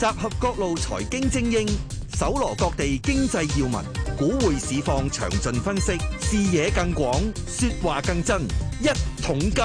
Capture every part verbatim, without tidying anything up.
集合各路財經精英，搜羅各地經濟要聞，股匯市況詳盡分析，視野更廣，說話更真。一桶金。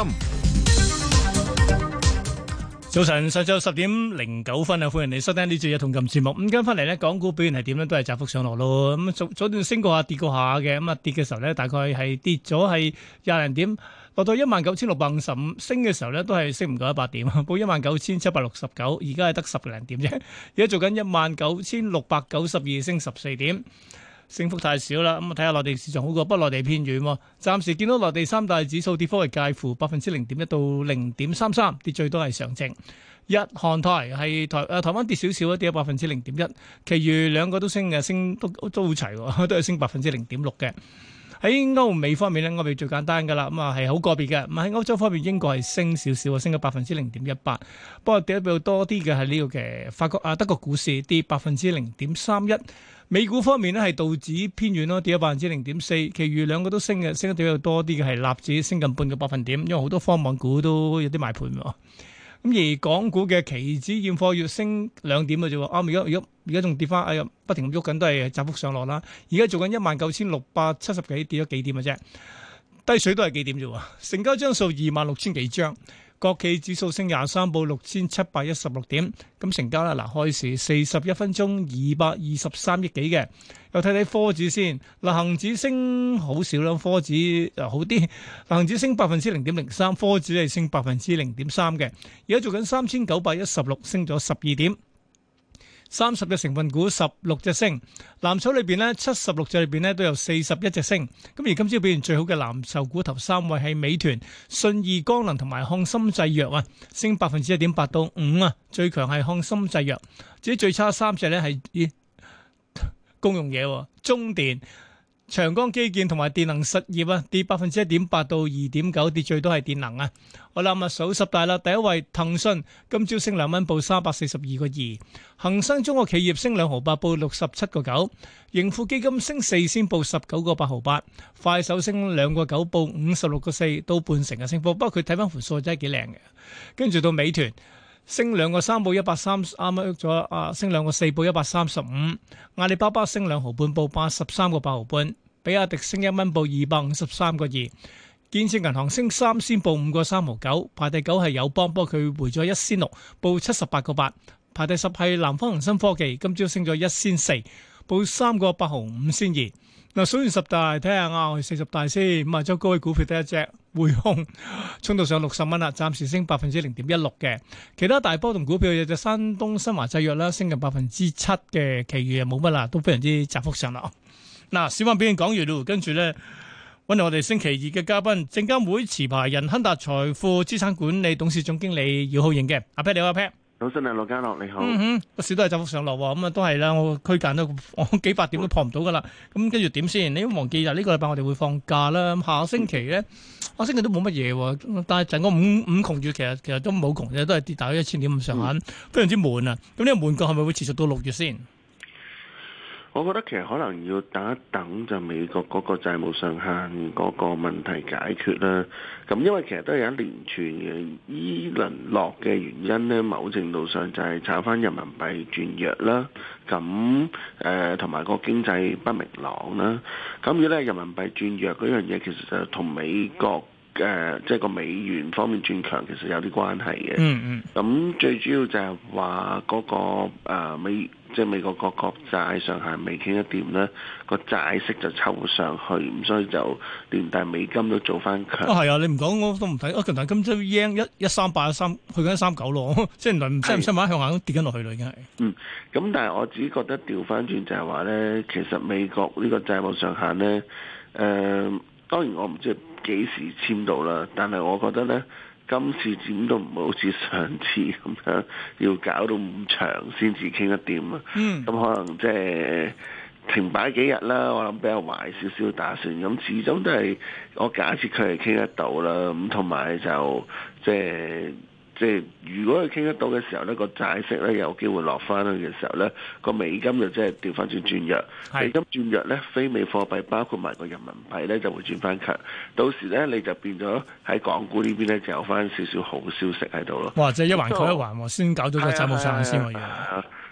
早晨，上晝十點零九分啊！歡迎你收聽呢節一桶金節目。咁跟翻嚟呢，港股表現係點呢？都係窄幅上落咯。咁早早段升過下，跌過下嘅。咁啊跌嘅時候呢，大概係跌咗係廿零點，落到一萬九千六百五十五。升嘅時候呢，都係升唔夠一百點，報一萬九千七百六十九。而家係得十零點啫。而家做緊一萬九千六百九十二，升十四點。升幅太少啦，咁啊睇下內地市場好過，不過內地偏軟喎。暫時見到內地三大指數跌幅係介乎百分之零點一到零點三三，跌最多係上證。日韓台係台誒台灣跌少少，跌咗百分之零點一，其餘兩個都升嘅，升都都好齊喎，都係升百分之零點六嘅。喺歐美方面咧，歐美最簡單噶啦，咁啊係好個別嘅。咁喺歐洲方面，英國係升少少，升咗百分之零點一八。不過跌得比較多啲嘅係呢個嘅法國啊德國股市跌百分之零點三一。美股方面咧係道指偏軟咯，跌咗百分之零點四。其餘兩個都升嘅，升得比較多啲嘅係納指升近半個百分點，因為好多科網股都有啲賣盤喎。咁而港股嘅期指現貨月升兩點嘅啫喎，啊而家而家而家仲跌翻，哎呀不停咁喐緊，都係窄幅上落啦。而家做緊一萬九千六百七十幾，跌咗幾點嘅啫，低水都係幾點啫喎。成交張數二萬六千幾張，國企指數升廿三，報六千七百一十六點。咁成交啦，嗱開市四十一分鐘二百二十三億幾嘅。又睇睇科指先，嗱恒指升好少啦，科指又好啲，恒指升百分之零點零三，科指係升百分之零點三嘅。而家做緊三千九百一十六，升咗十二點。三十隻成分股，十六隻升。藍籌裏邊呢，七十六隻裏邊呢都有四十一隻升。咁而今朝表現最好嘅藍籌股頭三位係美團、信義光能同埋漢森製藥啊，升百分之一點八到五啊。最強係漢森製藥，至於最差三隻呢係咦公用嘢，中電、長江基建同埋電能實業啊，跌百分之一點八到二點九，跌最多係電能啊。好啦，咁啊數十大啦，第一位騰訊今朝升兩蚊，報三百四十二個二；恒生中國企業升兩毫八，報六十七個九；盈富基金升四仙，報十九個八毫八；快手升兩個九，報五十六個四，到半成嘅升幅。不過佢睇翻盤數真係幾靚嘅。跟住到美團。升兩個三，報一百三，啱啱喐咗啊！升兩個四，報一百三十五。阿里巴巴升兩毫半，報八十三個八毫半。比亞迪升一蚊，報二百五十三個二。建設銀行升三仙，報五個三毫九。排第九係友邦，不過佢回咗一仙六，報七十八個八。排第十係南方恒生科技，今朝升咗一仙四，報三個八毫五仙二。嗱，數完十大，睇下啱四十大先。咁啊，周高位股票得一隻匯控，衝到上六十蚊啦，暫時升百分之零點一六嘅。其他大波動股票有隻山東新華製藥啦，升近百分之七嘅，其餘又冇乜啦，都非常之窄幅上落。嗱，小溫表現講完咯，跟住咧揾嚟我哋星期二嘅嘉賓，證監會持牌人亨達財富資產管理董事總經理姚浩盈嘅。阿 Pat 你好，阿 Pat。 早晨啊，羅家樂你好。 嗯哼，個市都係窄幅上落喎，咁啊都係啦，我區間都我幾百點都破唔到噶啦。咁跟住點先？你都忘記啊？呢個禮拜我哋會放假啦。咁下個星期咧，下星期都冇乜嘢喎。但係整個五五窮月，其實其實都冇窮嘅，都係跌大約一千點咁上下，非常之悶啊。咁呢個悶局係咪會持續到六月先？ 我覺得其實可能要等一等，就美國嗰個債務上限嗰個問題解決啦。咁因為其實都係有一連串嘅依輪落嘅原因咧，某程度上就係炒翻人民幣轉弱啦。咁誒同埋個經濟不明朗啦。咁如果咧人民幣轉弱嗰樣嘢，其實就同美國誒即係個美元方面轉強，其實有啲關係嘅。嗯嗯。咁最主要就係話嗰個、呃、美。即係美國個國債上限未傾一掂咧，個債息就抽上去，咁所以就連帶美金都做翻強。啊係啊，你唔講我都唔睇。啊，近排今朝 yen 一一三八一三去緊一三九咯，即係原來唔使唔使買向下都跌緊落去啦，已經係。嗯， 咁但係我自己覺得調翻轉就係話咧，其實美國呢個債務上限咧，誒、呃、當然我唔知幾時簽到啦，但係我覺得咧。今次點都唔會好似上次咁樣，要搞到咁長先至傾得掂啊！咁、嗯、可能即係停擺幾日啦，我諗比較壞少少打算。咁始終都係我假設佢係傾得到啦。咁同埋就即係即係如果佢傾得到嘅時候呢，個債息咧有機會落翻去嘅時候咧，個美金就即係調翻轉轉弱。美金轉弱咧，非美貨幣包括埋個人民幣咧就會轉翻強。到時咧你就變咗喺港股呢邊咧就有翻少少好消息喺度咯。 哇！即係一環扣一環喎，先搞到個債務上限先喎。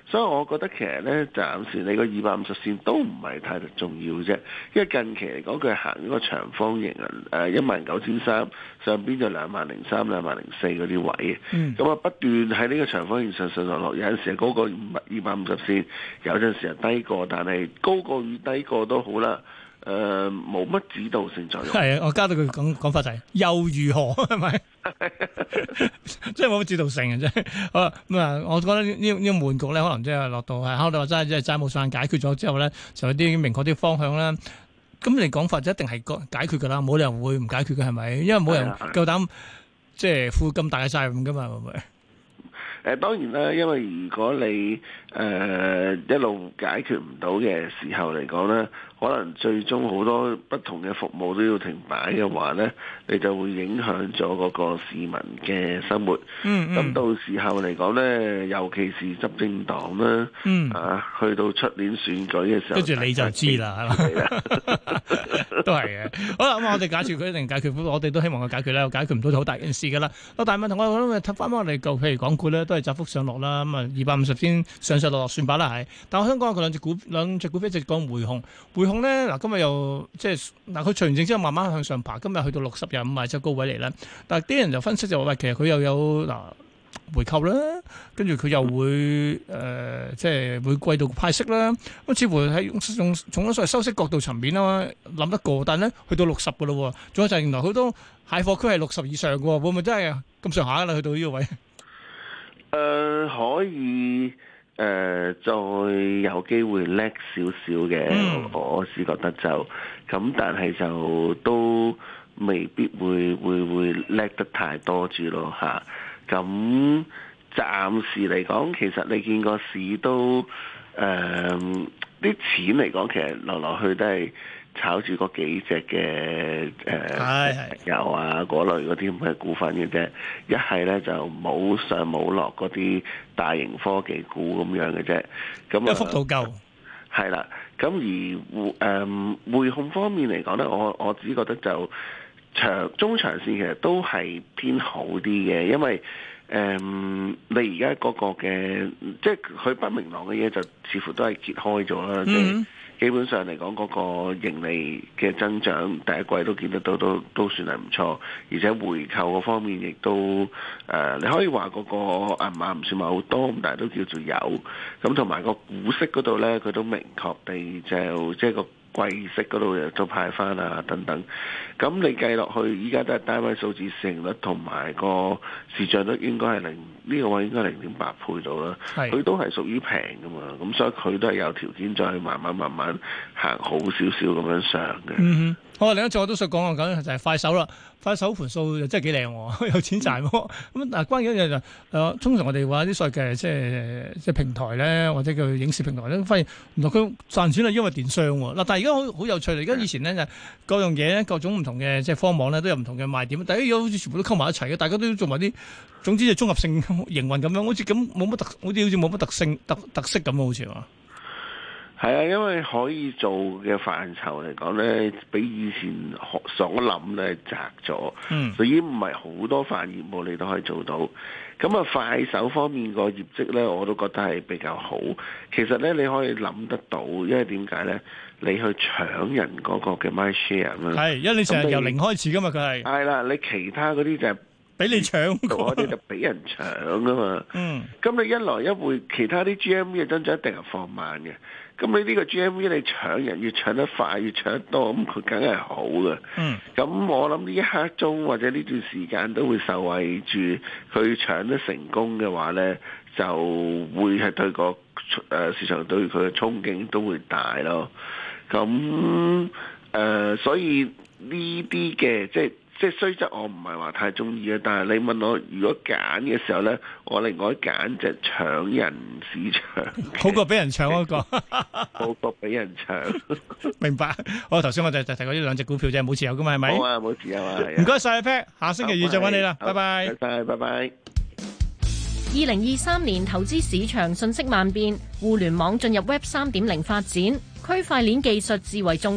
所以我覺得其實咧，暫時你個二百五十線都唔係太重要啫，因為近期嚟講佢行呢個長方形啊，誒一萬九千三上邊就兩萬零三、兩萬零四嗰啲位，咁啊、嗯、不斷喺呢個長方形上上落落，有陣時高過二百五十線，有陣時係低過，但係高過與低過都好啦。誒冇乜指導性作用。 係啊，我加到佢講講法就係又如何係咪？即係冇乜指導性嘅啫。好啦，咁啊，我覺得呢呢呢個悶局咧，可能即係落到係，考慮話真係即係債務上解決咗之後咧，就有啲明確啲方向啦。咁你講法就一定係解決㗎啦，冇理由會唔解決嘅係咪？因為冇人夠膽即係負咁大嘅責任㗎嘛，係咪？ 誒當然啦，因為如果你誒、呃、一路解決唔到嘅時候嚟講咧，可能最終好多不同嘅服務都要停擺嘅話咧，你就會影響咗嗰個市民嘅生活。嗯咁、嗯、到時候嚟講咧，尤其是執政黨啦，嗯、啊，去到出年選舉嘅時候，跟住你就知啦，係咪？ 都係嘅。好啦，咁我哋假設佢一定解決，我哋都希望佢解決啦。解決唔到就好大件事㗎啦。但係問題我諗睇翻翻我哋舊，譬如港股咧，都係窄幅上落啦。咁啊，二百五十先上上落落算把啦，係。但我香港佢兩隻股兩隻股票一直講匯控，匯控咧嗱，今日又即係嗱，佢除完證之後慢慢向上爬，今日去到六十日五賣就高位嚟啦。但係啲人就分析就話喂，其實佢又有嗱回購啦，跟住佢又會誒、呃、即係每季度派息啦。咁似乎喺從從咗所謂收息角度層面啦，諗得過，但係咧去到六十嘅咯，仲有就係原來好多蟹貨區係六十以上嘅，會唔會真係咁上下啦？去到呢個位？誒、 呃、可以誒、呃、再有機會叻少少嘅，嗯、我是覺得就咁，但係就都未必會會會叻得太多住咯嚇。咁暫時嚟講，其實你見個市都誒啲、呃、錢嚟講，其實落落去都係炒住嗰幾隻嘅誒石油啊嗰類嗰啲咁嘅股份嘅啫。一係咧就冇上冇落嗰啲大型科技股咁樣嘅啫。咁啊， 幅度夠係啦。咁而匯誒匯控方面嚟講咧，我我只覺得就長中長線其實都係偏好啲嘅，因為誒、嗯、你而家嗰個嘅即係佢不明朗嘅嘢就似乎都係揭開咗啦，即係、mm hmm. 基本上嚟講嗰個盈利嘅增長第一季都見得到都都算係唔錯，而且回購嗰方面亦都誒、呃、你可以話嗰個銀碼唔算話好多，咁但係都叫做有，咁同埋個股息嗰度咧佢都明確地就即係個季息嗰度又都派翻啊等等，咁你計落去，依家都係單位數字市盈率同埋個市賬率應該係零呢個位應該零點八倍到啦，佢是都係屬於平噶嘛，咁所以佢都係有條件再慢慢慢慢行好少少咁樣上嘅。嗯好，另一隻我都想講下緊就係快手啦。快手盤數又真係幾靚，有錢賺。咁嗱，關鍵一樣就誒，通常我哋話啲所謂嘅即係即係平台咧，或者叫影視平台咧，發現原來佢賺錢係因為電商喎。嗱，但係而家好好有趣嚟，而家以前咧就各樣嘢咧，各種唔同嘅即係科網咧都有唔同嘅賣點，但係而家好似全部都溝埋一齊嘅，大家都做埋啲總之就綜合性營運咁樣，好似咁冇乜特，好似好似冇乜特性特特色咁啊，好似話。 係啊，因為可以做嘅範疇嚟講咧，比以前所諗咧窄咗，嗯、所以唔係好多範業務你都可以做到。咁啊，快手方面個業績咧，我都覺得係比較好。其實咧，你可以諗得到，因為點解咧？你去搶人嗰個嘅 my share 啊， 係，因為你成日由零開始噶嘛，佢係係啦，你其他嗰啲就係俾你搶， 我哋就俾人搶噶嘛。嗯，咁你一來一回，其他啲 G M V 嘅增長一定係放慢嘅。咁你呢個 G M V 你搶人越搶得快越搶得多，咁佢梗係好嘅。嗯，咁我諗呢一刻鐘或者呢段時間都會受惠住佢搶得成功嘅話咧，就會係對個誒市場對佢嘅憧憬都會大咯。咁誒、呃，所以呢啲嘅即係。即係雖則我唔係話太中意嘅，但係你問我如果揀嘅時候咧，我另外揀就搶人市場， 好過俾人搶嗰個， 好過俾人搶。 明白。好，頭先我就就提過呢兩隻股票啫，冇持有噶嘛，係咪？ 冇啊，冇持有啊。 唔該晒 Pat，下星期二再揾你啦，拜拜。 拜拜，拜拜。 二零二三年投資市場瞬息萬變，互聯網進入 Web 三點零發展，區塊鏈技術至為重要。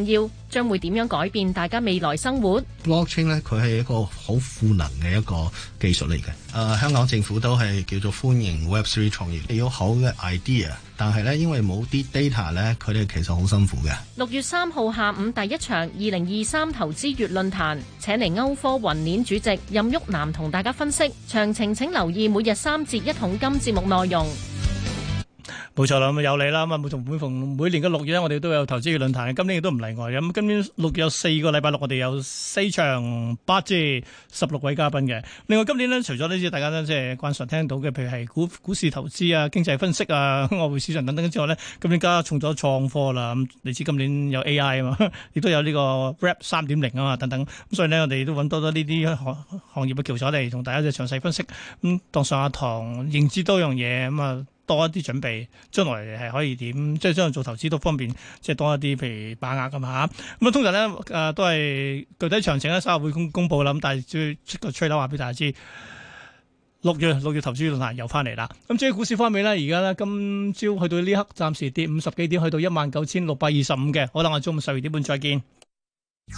將會點樣改變大家未來生活。 Blockchain 咧，佢係一個好賦能嘅一個技術嚟嘅。誒、呃，香港政府都係叫做歡迎 Web 三 創業，有好嘅 idea，但係咧因為冇啲 data 咧，佢哋其實好辛苦嘅。 六月三號下午第一場二零二三投資月論壇，請嚟歐科雲鏈主席任旭南同大家分析。詳情請留意每日三節一桶金節目內容。 冇錯啦，咁有你啦，咁啊每同每逢每年嘅六月咧，我哋都有投資嘅論壇，今年亦都唔例外嘅。咁今年六月有四個禮拜六，我哋有四場八至十六位嘉賓嘅。另外今年呢，除咗呢啲大家咧即係慣常聽到嘅，譬如係股股市投資啊、經濟分析啊、外匯市場等等之外呢，今年加重咗創科啦。咁你知今年有 A I 啊嘛，亦都有呢個 Web 三點零啊嘛等等。咁所以呢，我哋都揾多多呢啲行行業嘅橋手嚟同大家嘅詳細分析。咁當上下堂，認知多樣嘢咁啊。多一啲準備，將來係可以點？即係將來做投資都方便，即係多一啲，譬如把握咁嚇。咁啊，通常咧誒、呃、都係具體詳情咧，稍後會公公佈啦。咁但係最出個吹樓話俾大家知，六月六月投資論壇又翻嚟啦。咁至於股市方面咧，而家咧今朝去到呢刻，暫時跌五十幾點，去到一萬九千六百二十五嘅。好啦，我中午十二點半再見。